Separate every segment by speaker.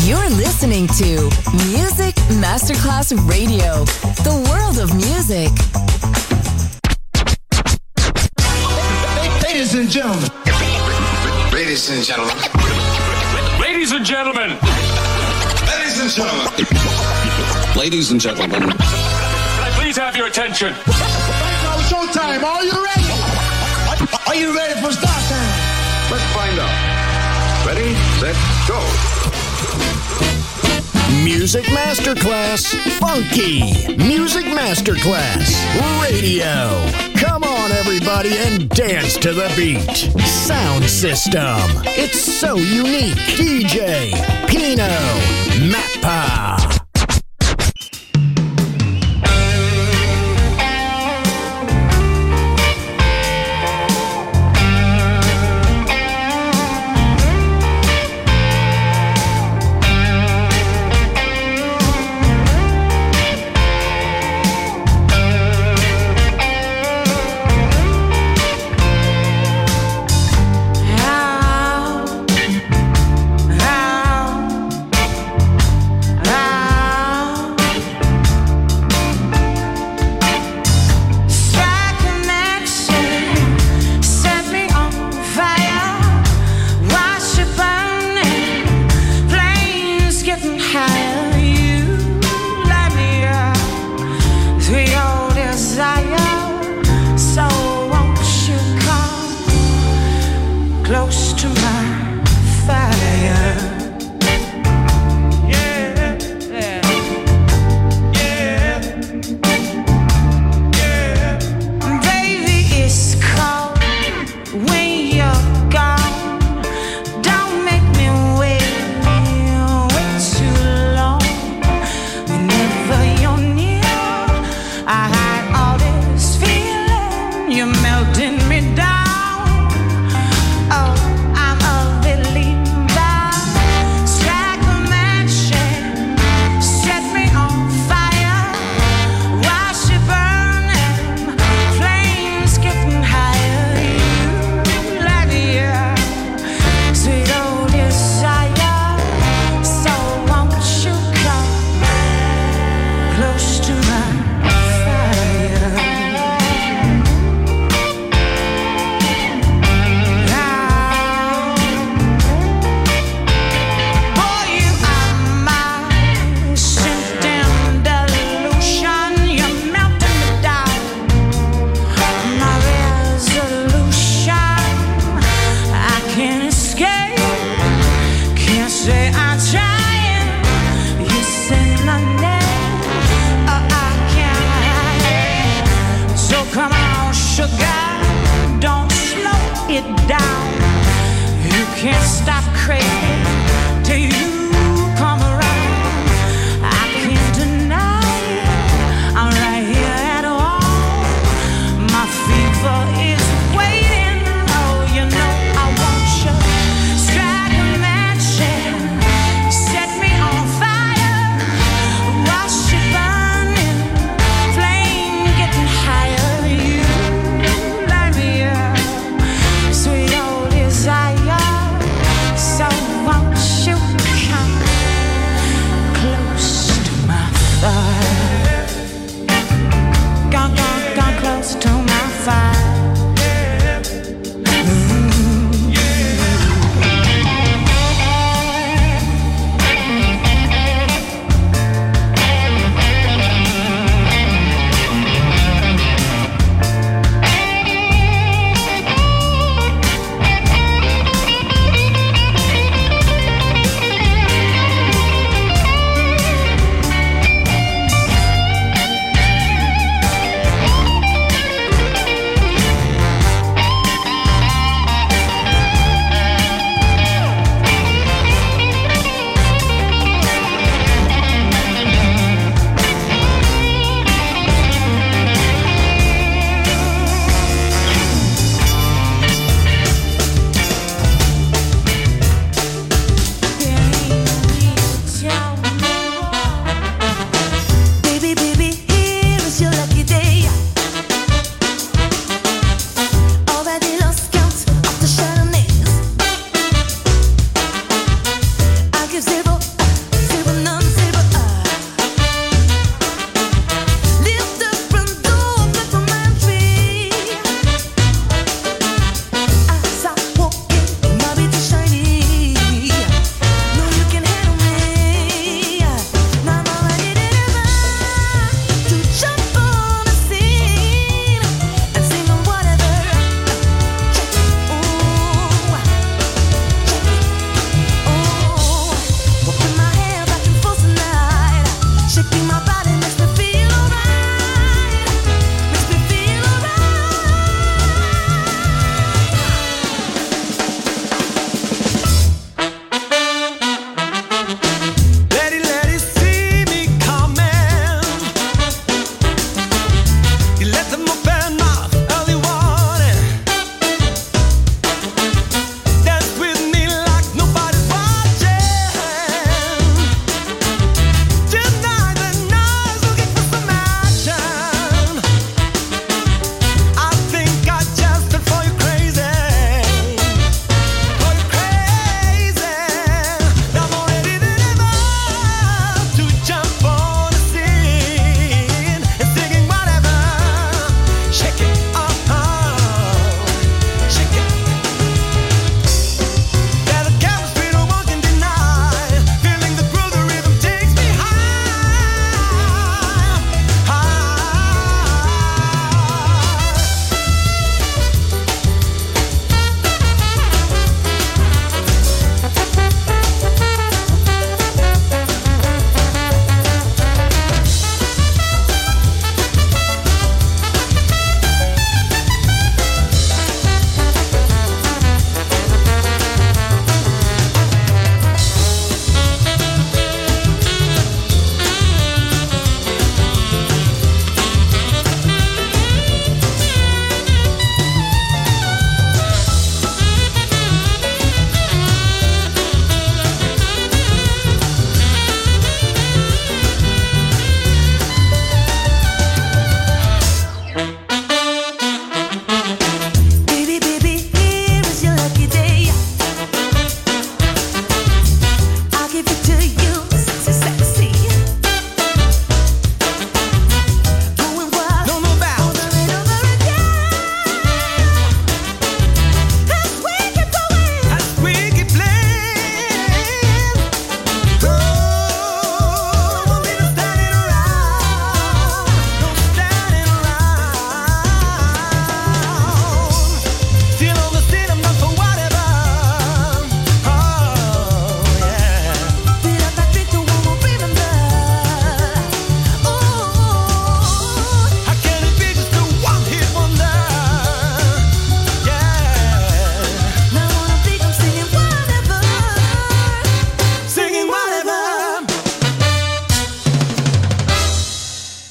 Speaker 1: You're listening to Music Masterclass Radio, the world of music.
Speaker 2: Ladies and gentlemen.
Speaker 3: Ladies and gentlemen.
Speaker 4: Ladies and gentlemen.
Speaker 3: Ladies and gentlemen. Ladies and gentlemen.
Speaker 4: Can I please have your attention?
Speaker 2: Now showtime. Are you ready? Are you ready for start time?
Speaker 3: Let's find out. Ready, set, go.
Speaker 5: Music Masterclass Funky. Music Masterclass Radio. Come on, everybody, and dance to the beat. Sound system. It's so unique. DJ Pino Mappa.
Speaker 6: So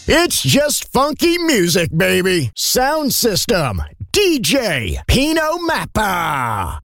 Speaker 5: It's just funky music, baby. Sound system, DJ Pino Mappa.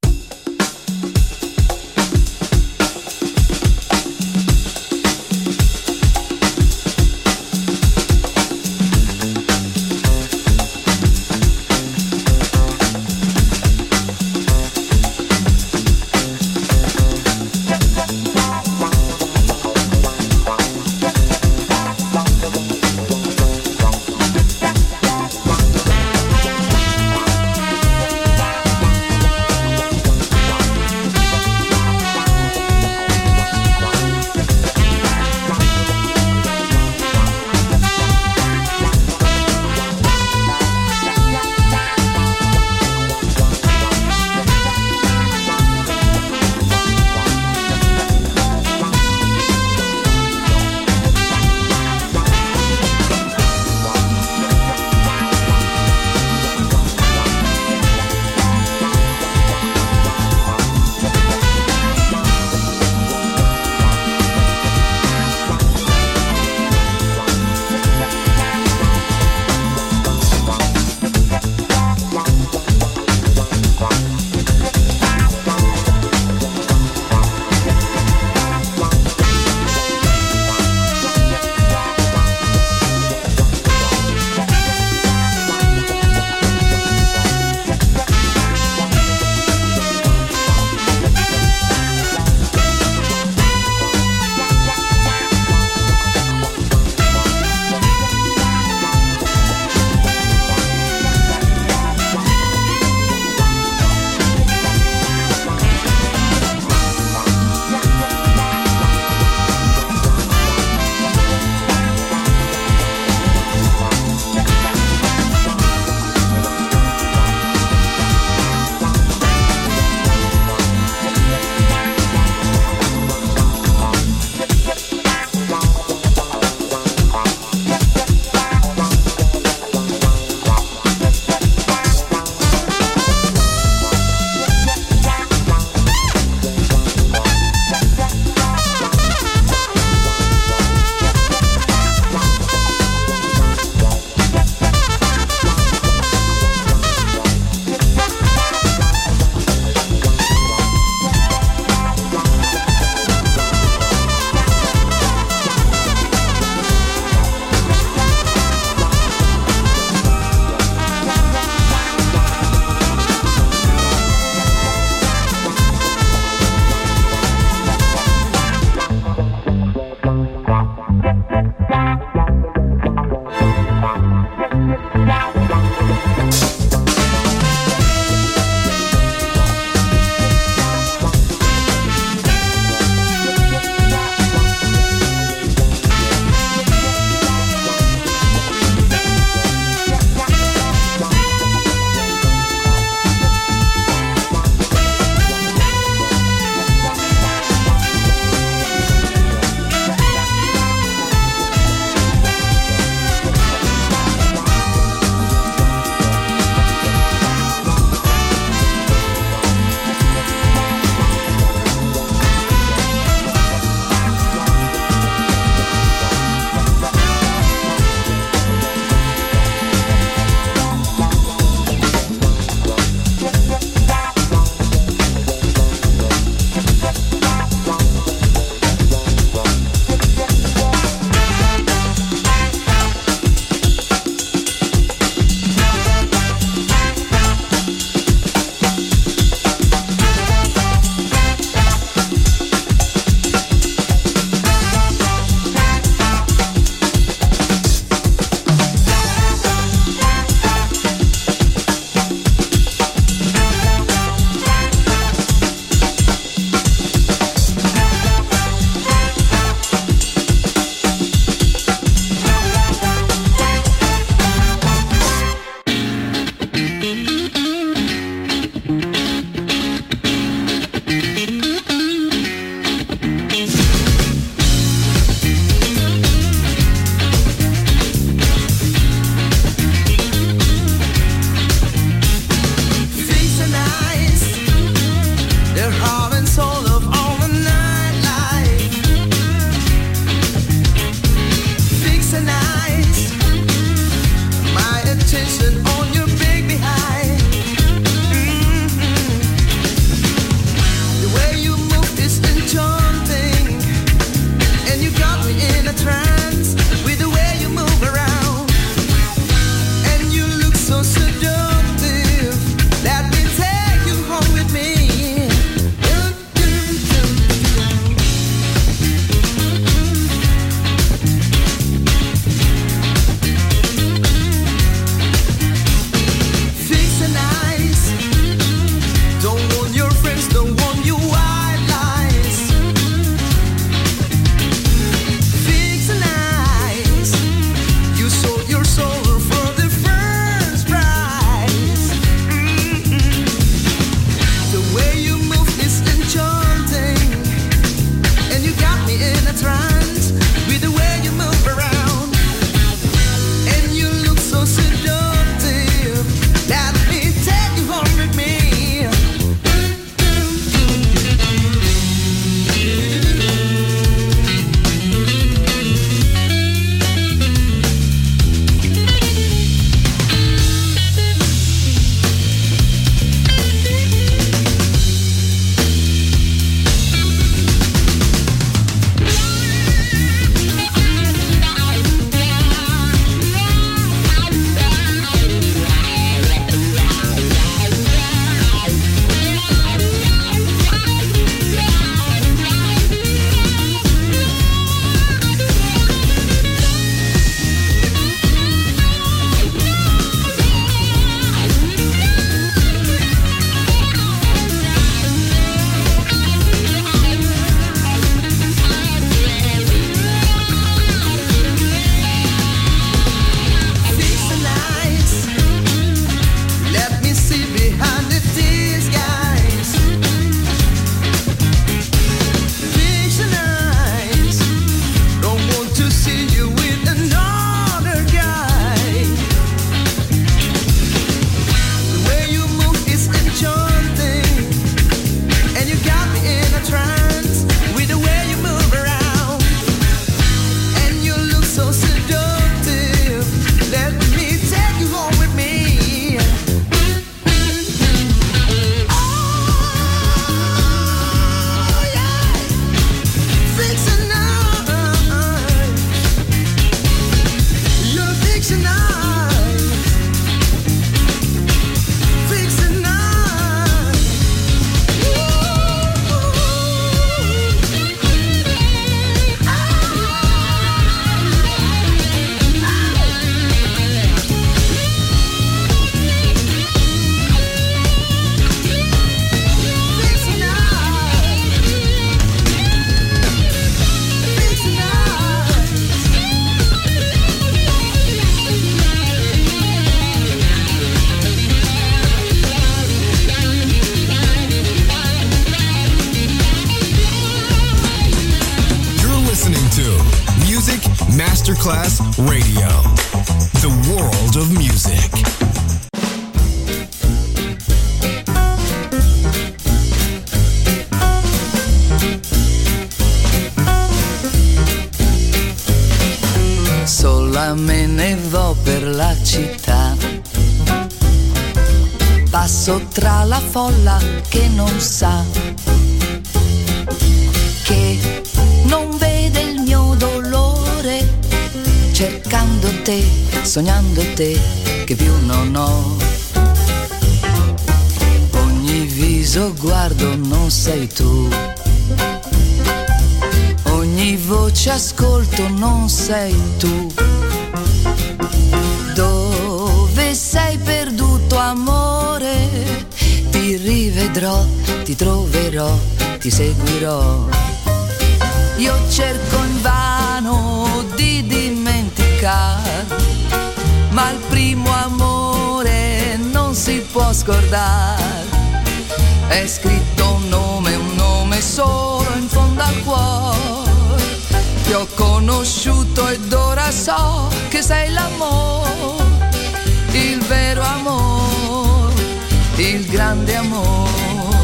Speaker 6: Masterclass Radio. The world of music.
Speaker 7: Sola me ne vo per la città, passo tra la folla che non sa, che non vede il mio dolore, cercando te, sognando te, che più non ho. Ogni viso guardo non sei tu, ogni voce ascolto non sei tu. Dove sei perduto amore? Ti rivedrò, ti troverò, ti seguirò. Io cerco invano di dimenticare, ma il primo amore non si può scordare. È scritto un nome solo in fondo al cuore. Ti ho conosciuto ed ora so che sei l'amore, il vero amore, il grande amore.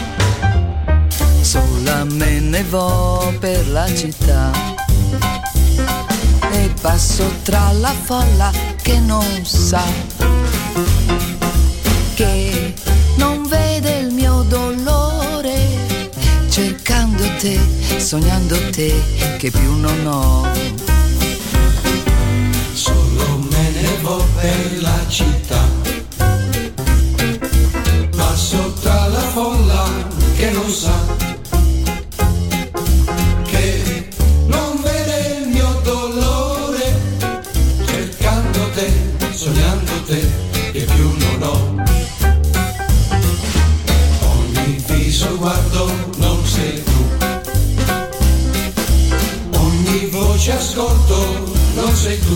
Speaker 7: Sola me ne vo per la città e passo tra la folla che non sa, che non vede il mio dolore, cercando te, sognando te, che più non ho.
Speaker 8: Solo me ne vo per la città, passo tra la folla che non sa, che non vede il mio dolore, cercando te, sognando te, che più non ho. Ogni viso guardo non sei tu, ogni voce ascolto non sei tu.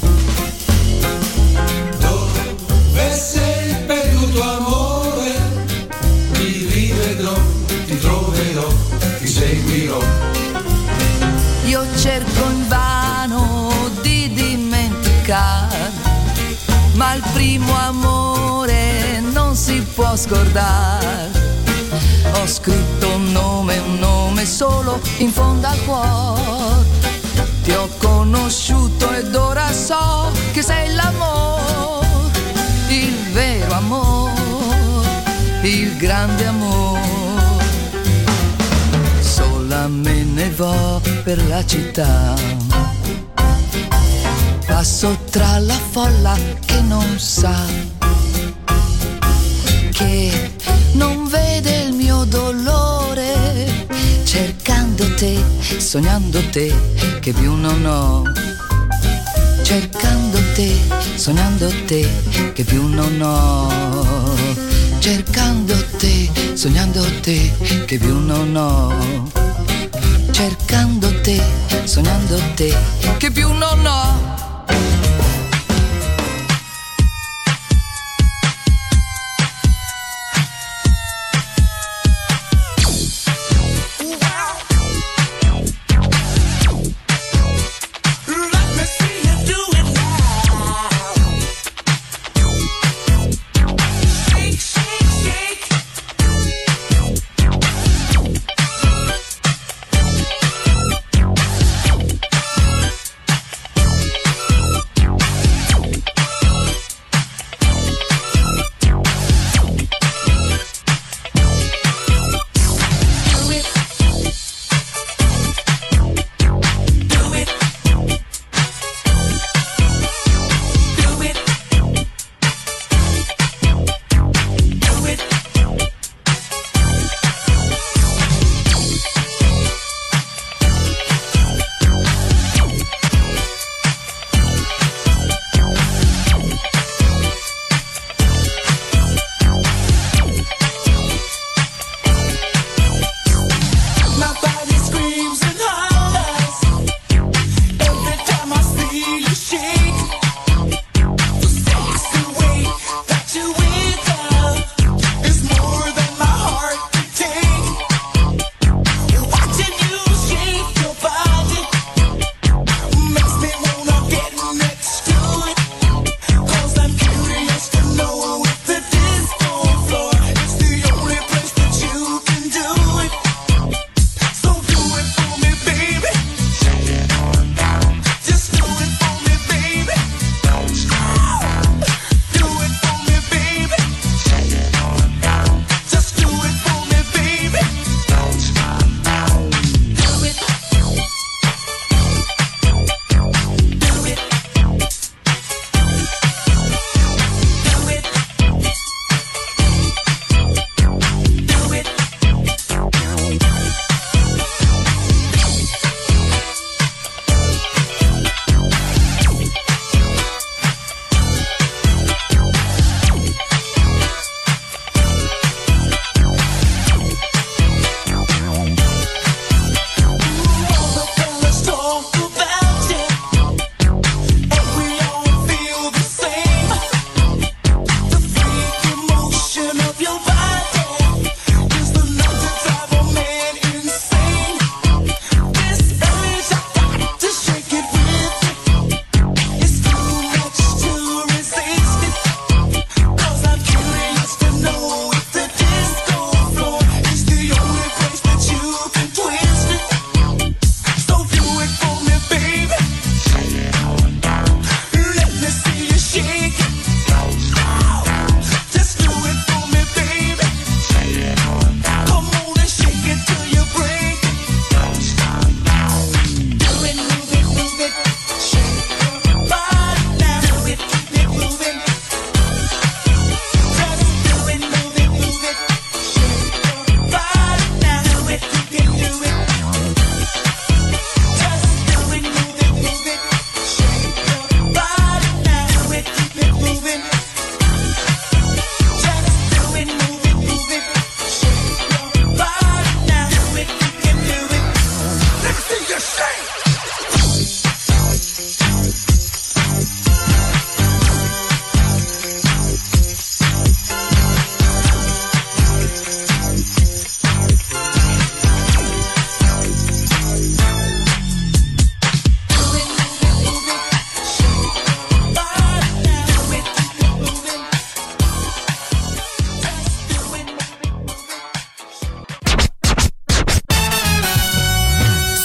Speaker 8: Dove sei perduto amore? Ti rivedrò, ti troverò, ti seguirò.
Speaker 7: Io cerco invano di dimenticare, ma il primo amore non si può scordare. Ho scritto un nome solo in fondo al cuore. Ti ho conosciuto ed ora so che sei l'amore, il vero amore, il grande amore. Sola me ne vo per la città, passo tra la folla che non sa, che non vede il mio dolore, cercando te, sognando te, che più non ho. Cercando te, sognando te, che più non ho. Cercando te, sognando te, che più non ho. Cercando te, sognando te, che più non ho.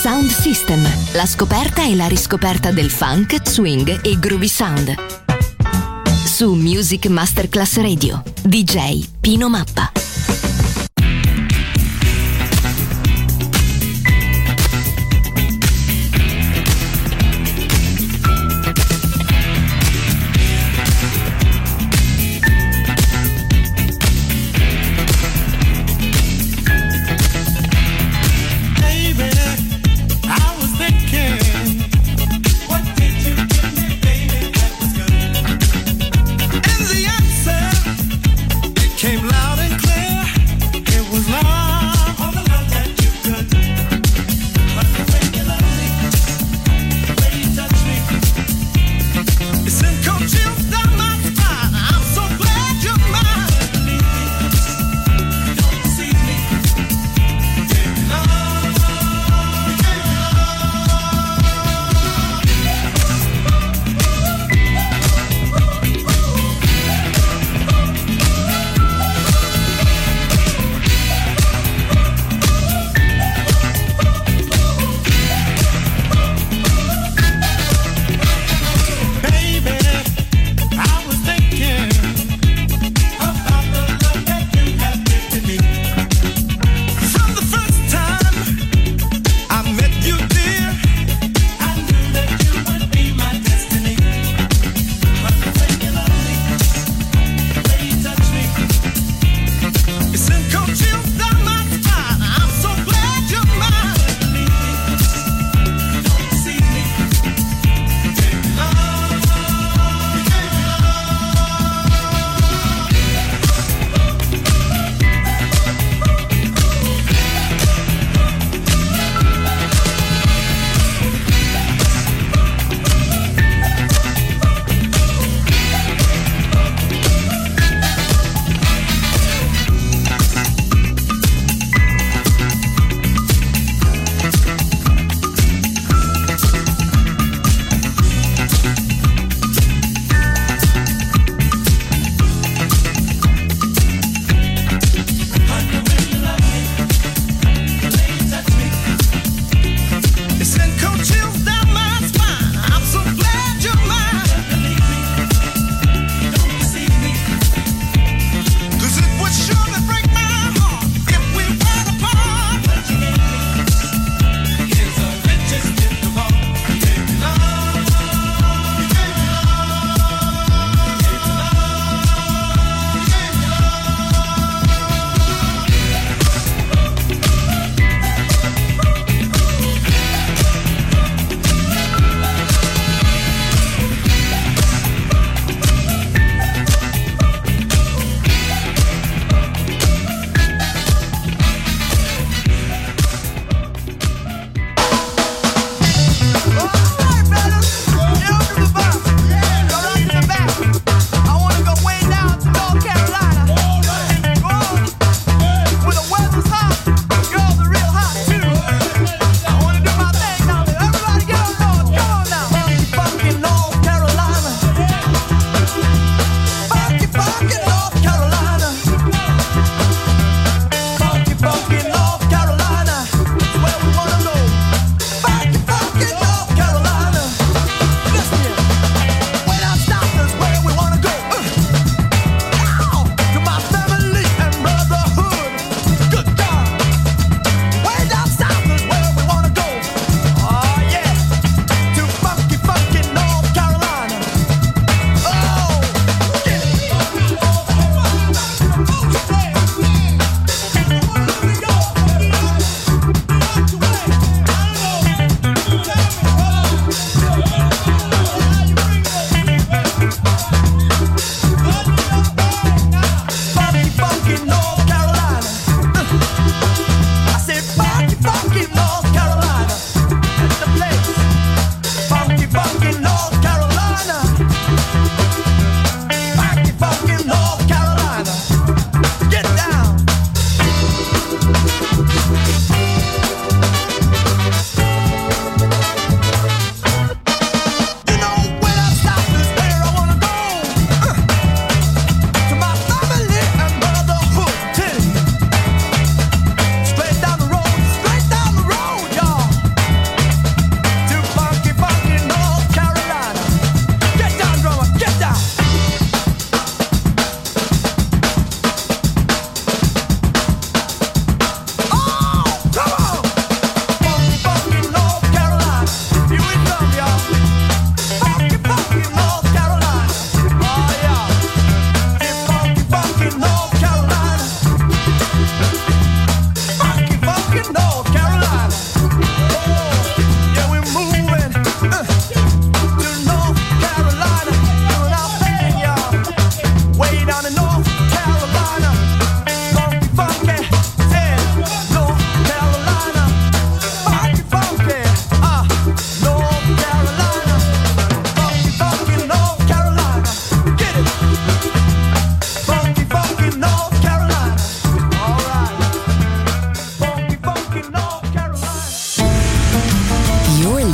Speaker 9: Sound System, la scoperta e la riscoperta del funk, swing e groovy sound. Su Music Masterclass Radio, DJ Pino Mappa.
Speaker 10: Came loud and clear.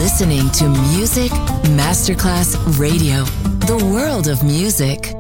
Speaker 1: listening to Music Masterclass Radio, the world of music.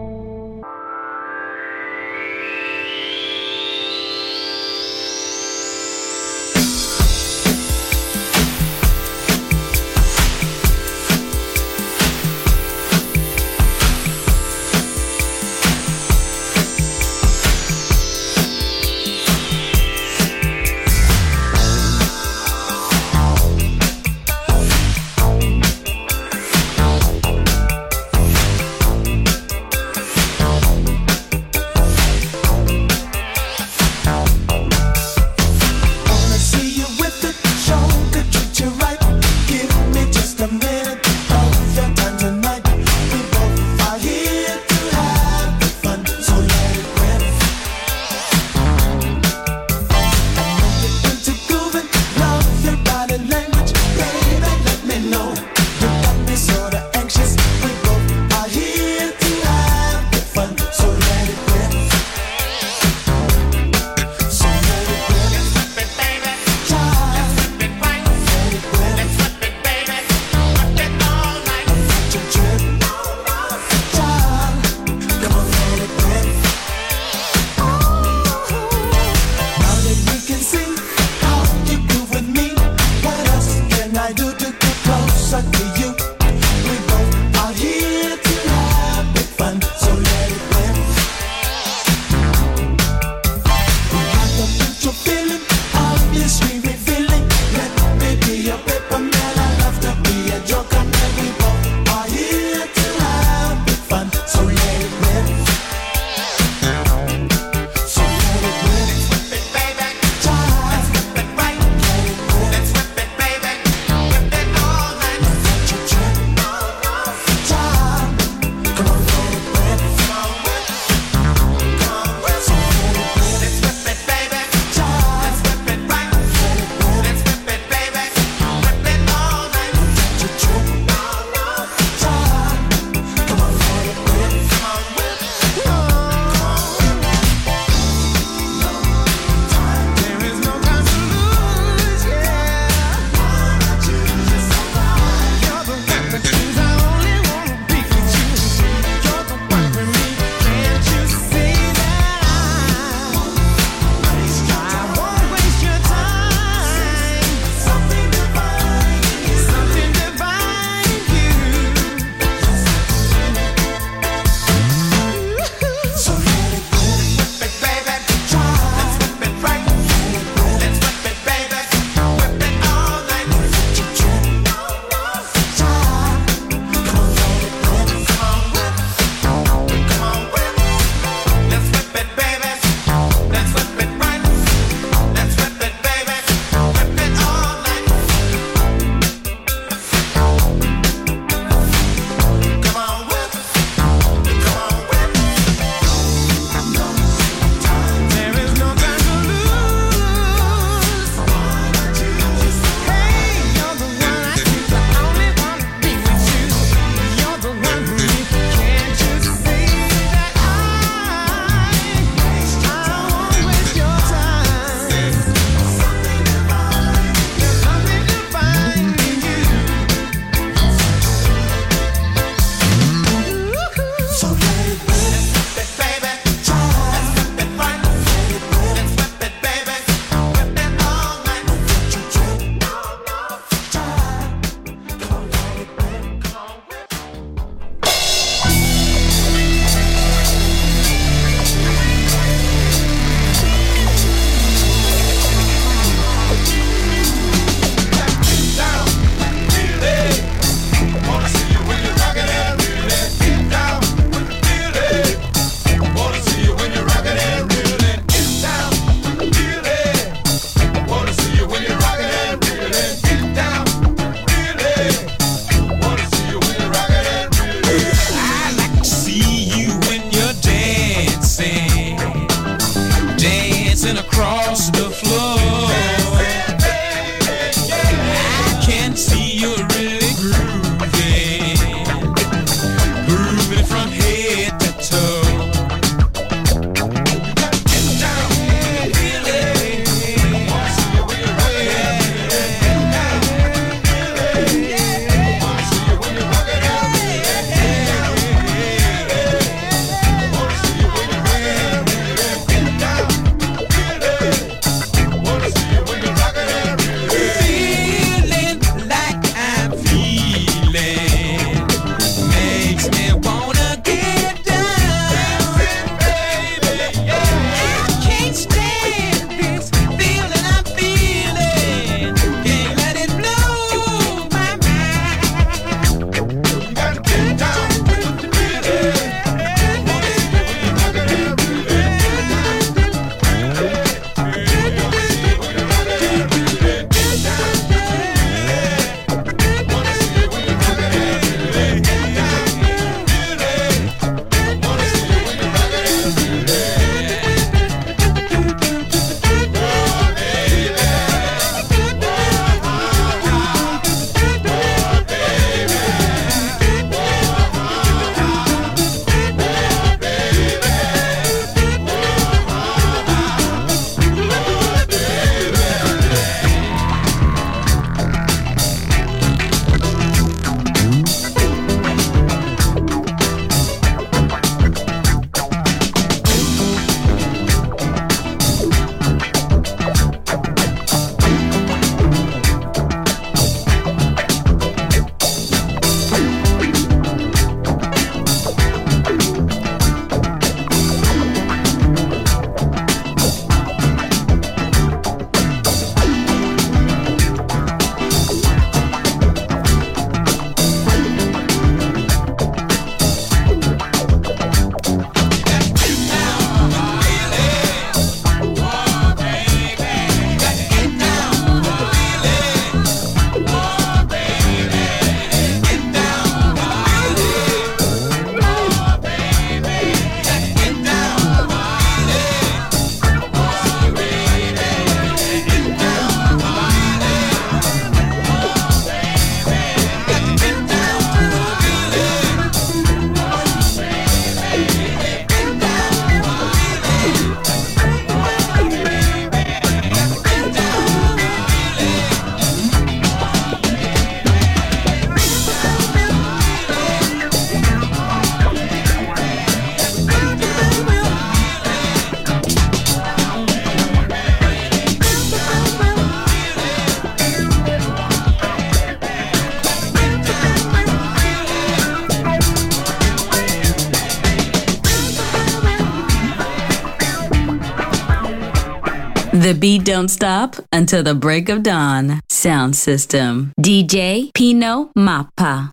Speaker 10: The beat don't stop until the break of dawn. Sound system. DJ Pino Mappa.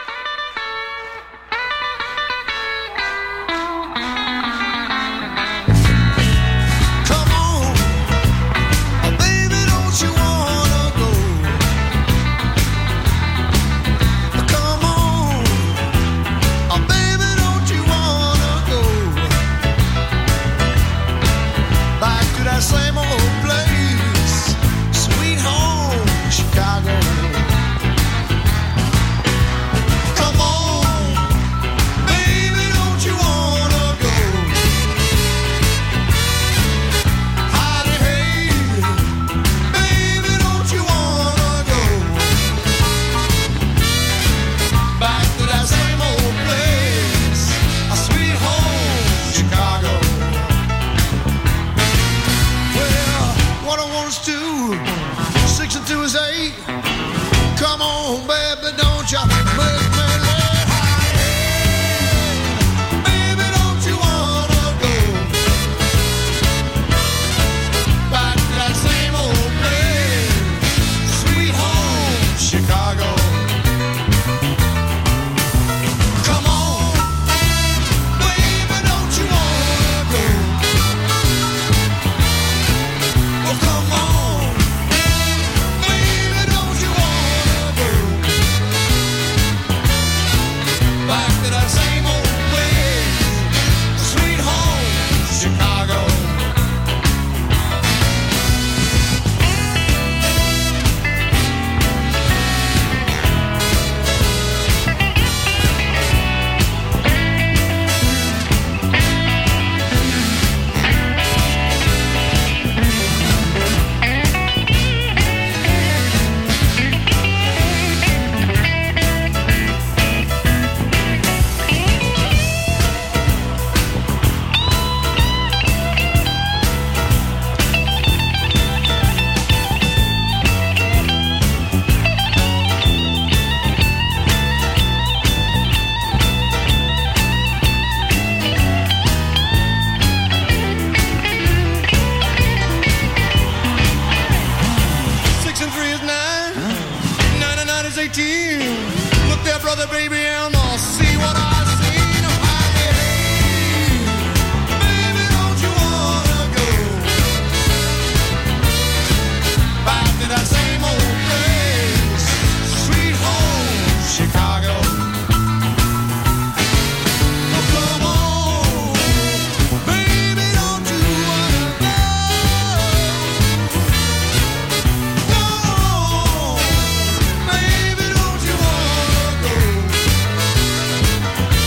Speaker 11: Same old place, sweet home, Chicago. Come on, baby, don't you wanna go? Howdy, hey, baby, don't you wanna go? Back to that same old place, a sweet home, Chicago. What I want us to 6 and 2 is 8. Come on, baby, don't you make me laugh. Baby, don't you wanna go back to that same old place, sweet home, Chicago. Come on, baby, don't you wanna go? Come on, baby, don't you wanna go back to that same old place, sweet home, Chicago. Look there, brother, baby, and I'll see what I see. Hey, baby, don't you wanna go back to that same old place, sweet home, Chicago? Oh, come on, baby, don't you wanna go? Baby, don't you wanna go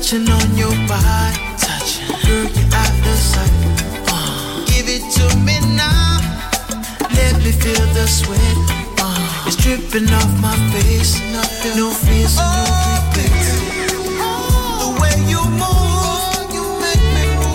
Speaker 12: touching on your body, touching. Girl, you're out of sight. Give it to me now. Let me feel the sweat. It's dripping off my face. No fears and no regrets. The way you move, you make me move.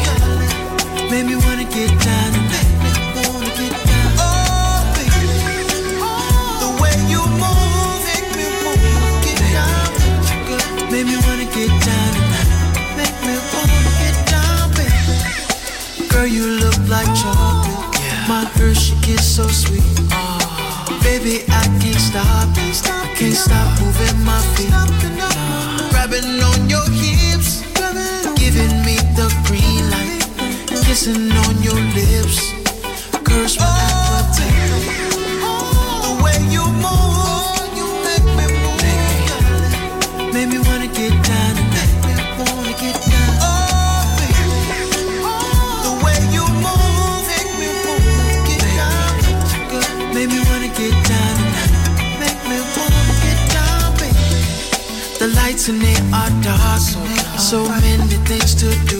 Speaker 12: Make me wanna get down tonight. Wanna get down. Oh, baby. The way you move, make me wanna get down. Make me wanna get down tonight. Make me wanna get down, baby. Girl, you look like chocolate. My Hershey kiss so sweet. Baby, I can't stop it. Can't stop moving my feet. Grabbing on your hips, giving me the green light. Kissing on your lips, curse my appetite. The way you move, you make me move. Make me wanna get down tonight. Wanna get down. Oh, baby. The way you move, make me wanna get down. Make me wanna get down tonight. Make me wanna get down, baby. The lights in there are dark, so many things to do.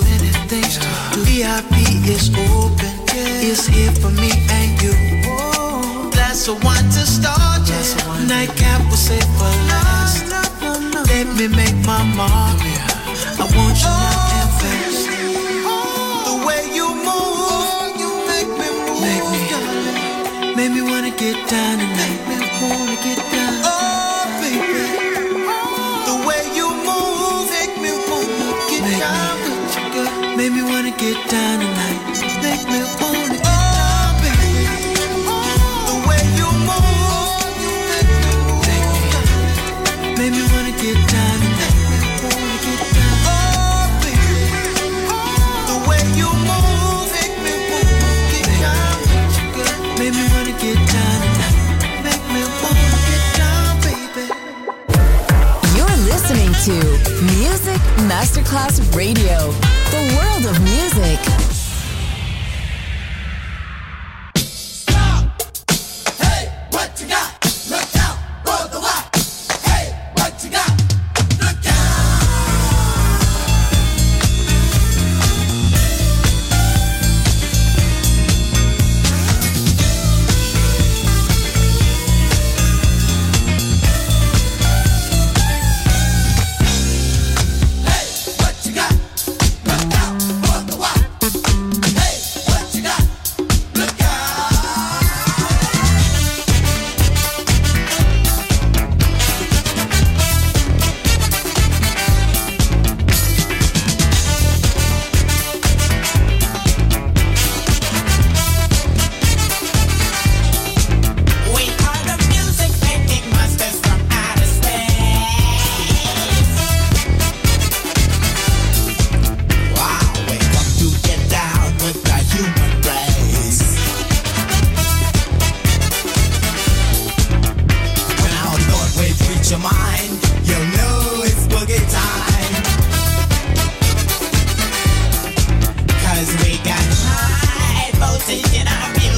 Speaker 12: VIP is open, it's here for me and you. Glass of wine to start, nightcap will save for last. Let me make my mark. I want you now and fast. The way you move, you make me move. Make me wanna get down tonight. Make me wanna get down. Oh, baby. The way you move, make me wanna get down. Make me wanna get down tonight. Make me wanna get down, baby. The way you move, you make me move. Make me wanna get down tonight. Make me wanna get down. Oh, baby. The way you move, make me wanna get down. Make me wanna get down tonight. Make me wanna get down, baby.
Speaker 1: You're listening to Music Masterclass Radio. The world of music.
Speaker 8: Stop! Hey, what you got? Look out for the light. Hey, what you got? Look out! Hey, what you got? Look out for the light. Hey, what you got? Look out! We are the music making monsters from outer space. Wow, we come to get down with the human race. When our Lord waves reach your mind, you'll know it's boogie time. 'Cause we got high voltage in our music.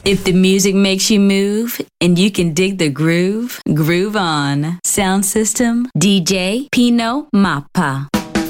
Speaker 10: If the music makes you move and you can dig the groove, groove on. Sound system, DJ Pino Mappa.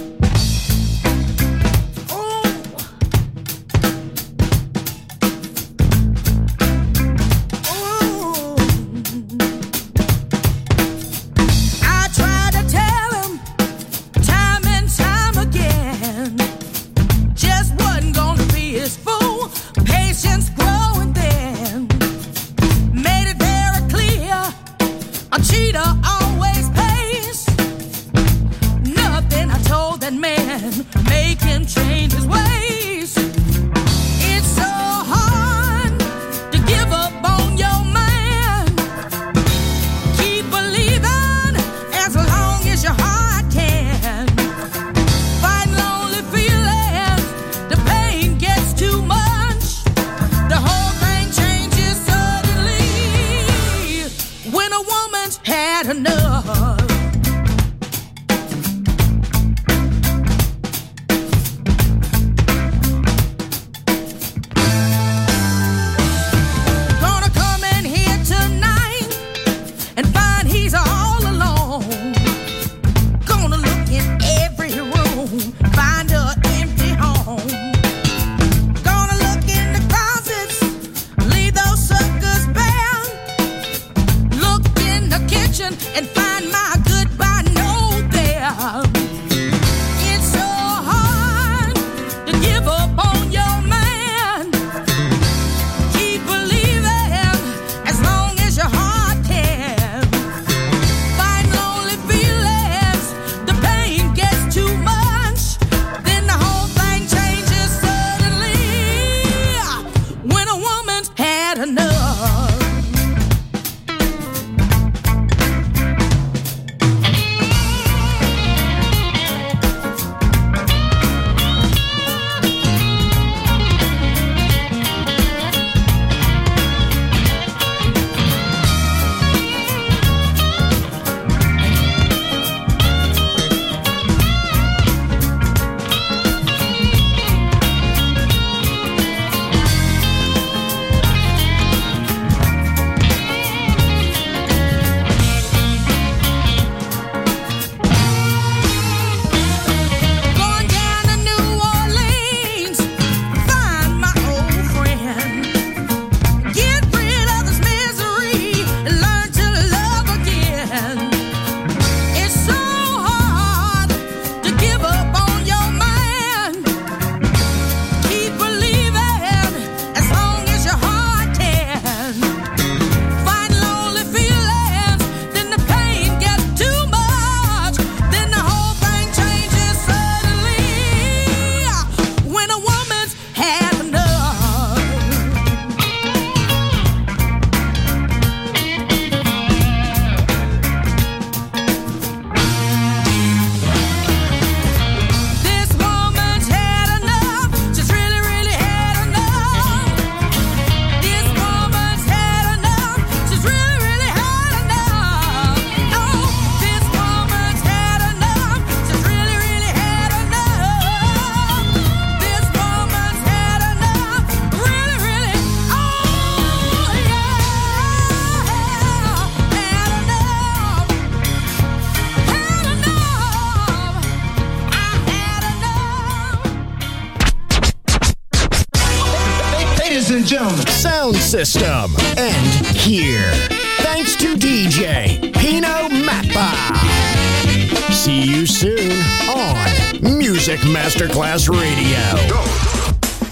Speaker 5: Sound system. And here. Thanks to DJ Pino Mappa. See you soon on Music Masterclass Radio.
Speaker 3: Go.